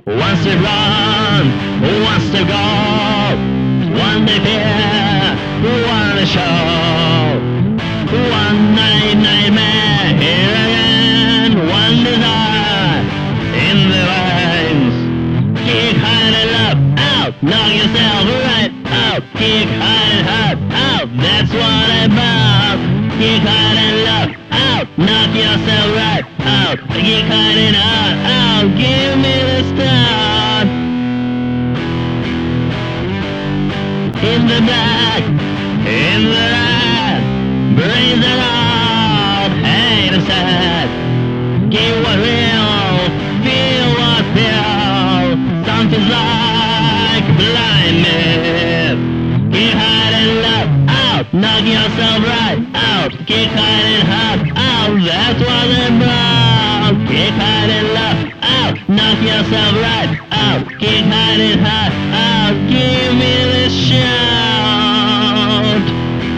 Wants to run, wants to go, one day fear, one day show, one night nightmare, here again, one desire, in the veins. Kick hard and love, out, knock yourself right out, kick hard and hard, out, that's what I'm about. Kick hard and love, out, knock yourself right out, kick hard and hard, out, give me the start. In the black, in the red, brains are out, hate and sad. Give what real, feel what feel, something's like blindness. Kick hard and love, out, knock yourself right out, kick hard and hard, out, that's what I'm about. Kick hard and love, out, knock yourself right out, kick hard and hard, out, give me the shout.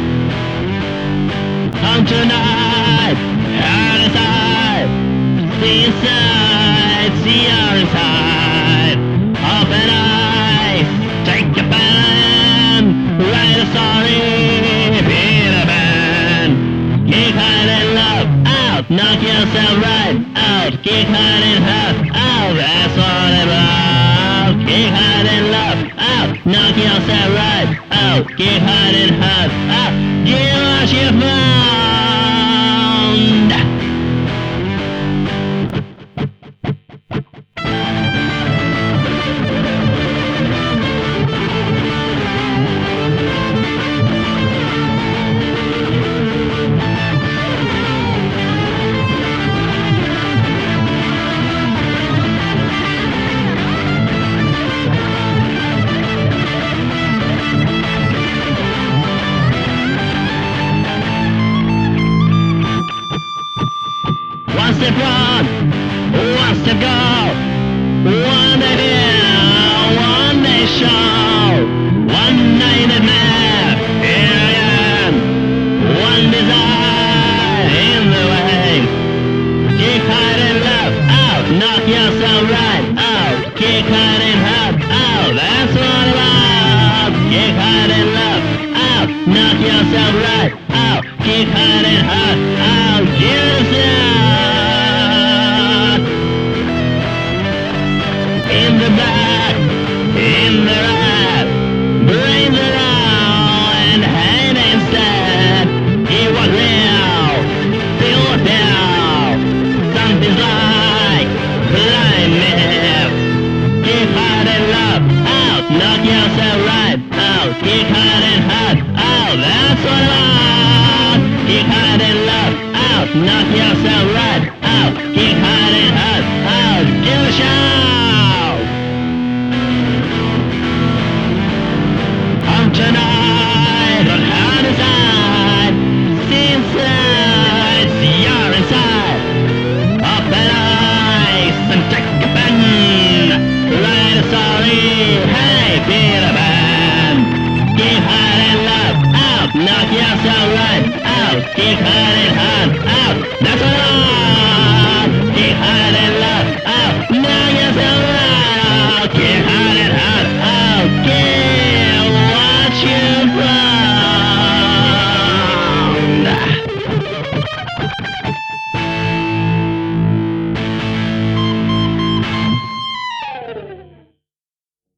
Come tonight, heart inside, see inside, see your inside. Open eyes, take your pen, write a story, be the band. Kick hard and love, out, knock yourself right out, kick hard and hard, out, that's what I'm about. Kick hard and love, out, knock yourself right out, kick hard and hard, out, give what you found. One step on, one step go, one day here, one day show, one night nightmare, here again, one desire in the way. Kick hard and love, out, knock yourself right out, kick hard and hard, out, that's what I'm about. Kick hard and love, out, knock yourself right out, kick hard and hard, out, give yourself. In the back, in the right, brains are out and hate instead. It was real, feel what feel, something's like blindness. Kick hard and love, out, knock yourself right out, kick hard and hard, out, that's what I'm about. Kick hard and love, out, knock yourself right out, kick hard and hard,